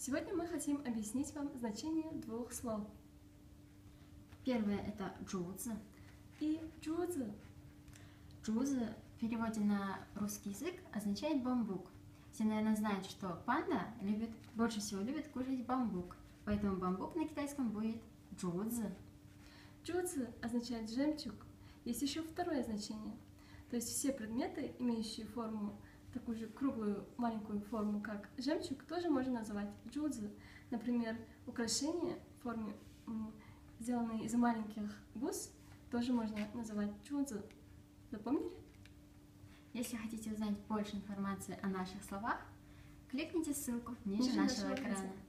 Сегодня мы хотим объяснить вам значение двух слов. Первое – это джуzi. И джуzi. Джуzi в переводе на русский язык означает бамбук. Все, наверное, знают, что панда больше всего любит кушать бамбук. Поэтому бамбук на китайском будет джуzi. Джуzi означает жемчуг. Есть еще второе значение. То есть все предметы, имеющие форму, такую же круглую маленькую форму, как жемчуг, тоже можно называть джузи. Например, украшения в форме, сделанные из маленьких бус, тоже можно называть джузи. Запомнили? Если хотите узнать больше информации о наших словах, кликните ссылку ниже нашего экрана.